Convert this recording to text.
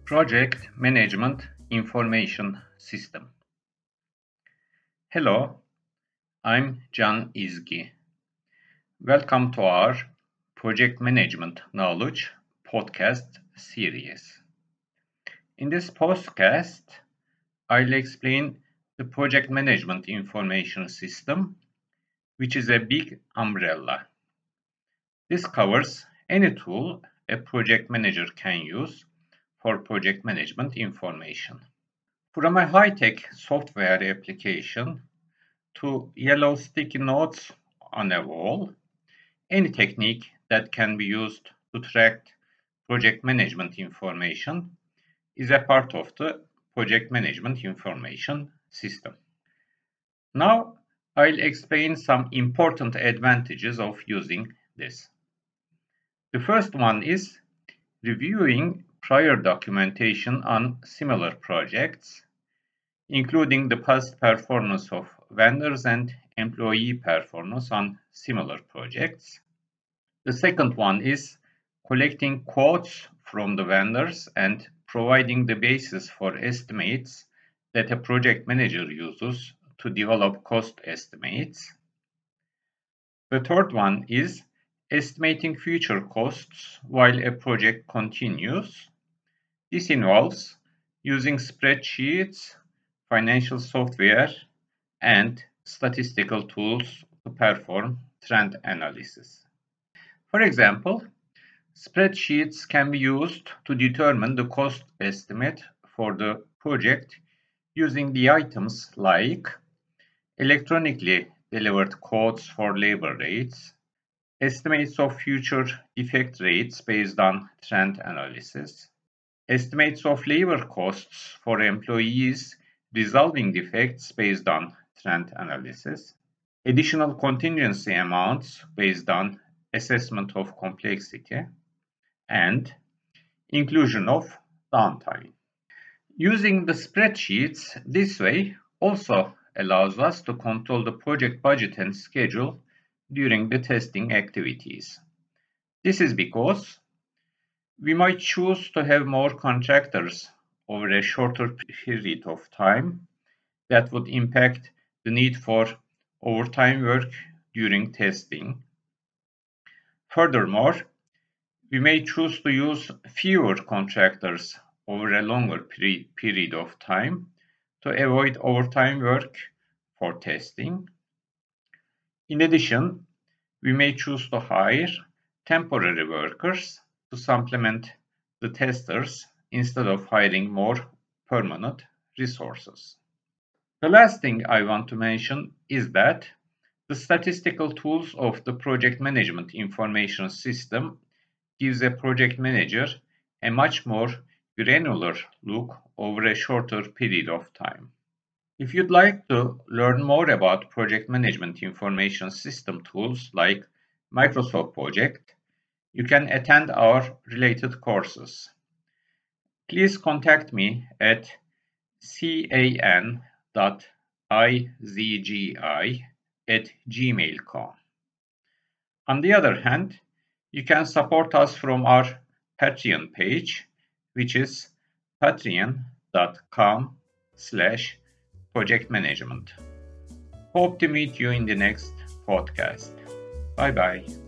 Project Management Information System. Hello, I'm Can İzgi. Welcome to our Project Management Knowledge podcast series. In this podcast, I'll explain the Project Management Information System, which is a big umbrella. This covers any tool a project manager can use for project management information. From a high-tech software application to yellow sticky notes on a wall, any technique that can be used to track project management information is a part of the project management information system. Now, I'll explain some important advantages of using this. The first one is reviewing prior documentation on similar projects, including the past performance of vendors and employee performance on similar projects. The second one is collecting quotes from the vendors and providing the basis for estimates that a project manager uses to develop cost estimates. The third one is estimating future costs while a project continues. This involves using spreadsheets, financial software, and statistical tools to perform trend analysis. For example, spreadsheets can be used to determine the cost estimate for the project using the items like electronically delivered quotes for labor rates, estimates of future defect rates based on trend analysis, estimates of labor costs for employees resolving defects based on trend analysis, additional contingency amounts based on assessment of complexity, and inclusion of downtime. Using the spreadsheets this way also allows us to control the project budget and schedule during the testing activities. This is because we might choose to have more contractors over a shorter period of time that would impact the need for overtime work during testing. Furthermore, we may choose to use fewer contractors over a longer period of time to avoid overtime work for testing. In addition, we may choose to hire temporary workers to supplement the testers instead of hiring more permanent resources. The last thing I want to mention is that the statistical tools of the project management information system gives a project manager a much more granular look over a shorter period of time. If you'd like to learn more about project management information system tools like Microsoft Project, you can attend our related courses. Please contact me at can.izgi@gmail.com. On the other hand, you can support us from our Patreon page, which is patreon.com/projectmanagement. Hope to meet you in the next podcast. Bye bye.